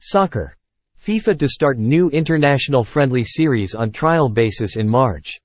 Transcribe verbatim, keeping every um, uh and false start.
Soccer. FIFA to start new international friendly series on trial basis in March.